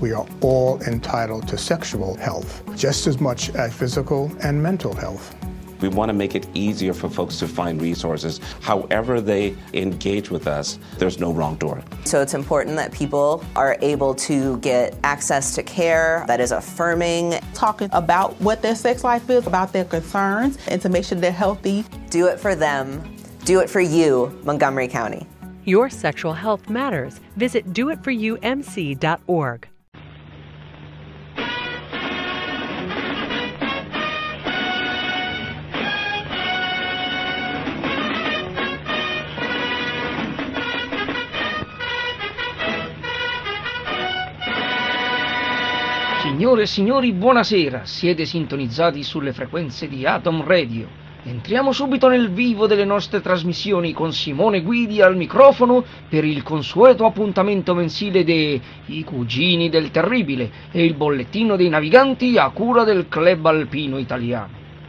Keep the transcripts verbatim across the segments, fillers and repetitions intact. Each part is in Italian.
We are all entitled to sexual health, just as much as physical and mental health. We want to make it easier for folks to find resources. However they engage with us, there's no wrong door. So it's important that people are able to get access to care that is affirming. Talking about what their sex life is, about their concerns, and to make sure they're healthy. Do it for them. Do it for you, Montgomery County. Your sexual health matters. Visit do it for you m c dot org. Signore e signori, buonasera. Siete sintonizzati sulle frequenze di Atom Radio. Entriamo subito nel vivo delle nostre trasmissioni con Simone Guidi al microfono per il consueto appuntamento mensile dei I Cugini del Terribile e il bollettino dei naviganti a cura del Club Alpino Italiano.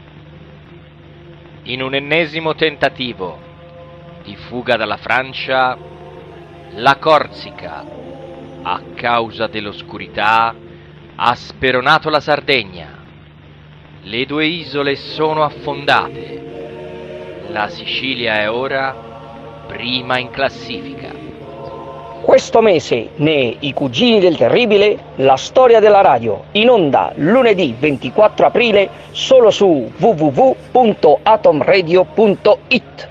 In un ennesimo tentativo di fuga dalla Francia, la Corsica, a causa dell'oscurità, ha speronato la Sardegna. Le due isole sono affondate. La Sicilia è ora prima in classifica. Questo mese, nei I Cugini del Terribile, la storia della radio, in onda lunedì ventiquattro aprile, solo su w w w punto atom radio punto i t.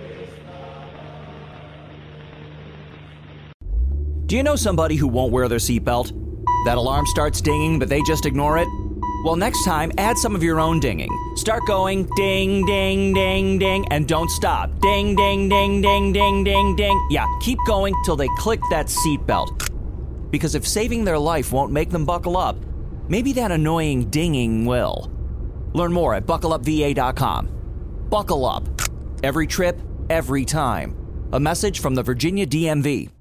Do you know somebody who won't wear their seatbelt? That alarm starts dinging, but they just ignore it? Well, next time, add some of your own dinging. Start going ding, ding, ding, ding, and don't stop. Ding, ding, ding, ding, ding, ding, ding. Yeah, keep going till they click that seatbelt. Because if saving their life won't make them buckle up, maybe that annoying dinging will. Learn more at buckle up v a dot com. Buckle up. Every trip, every time. A message from the Virginia D M V.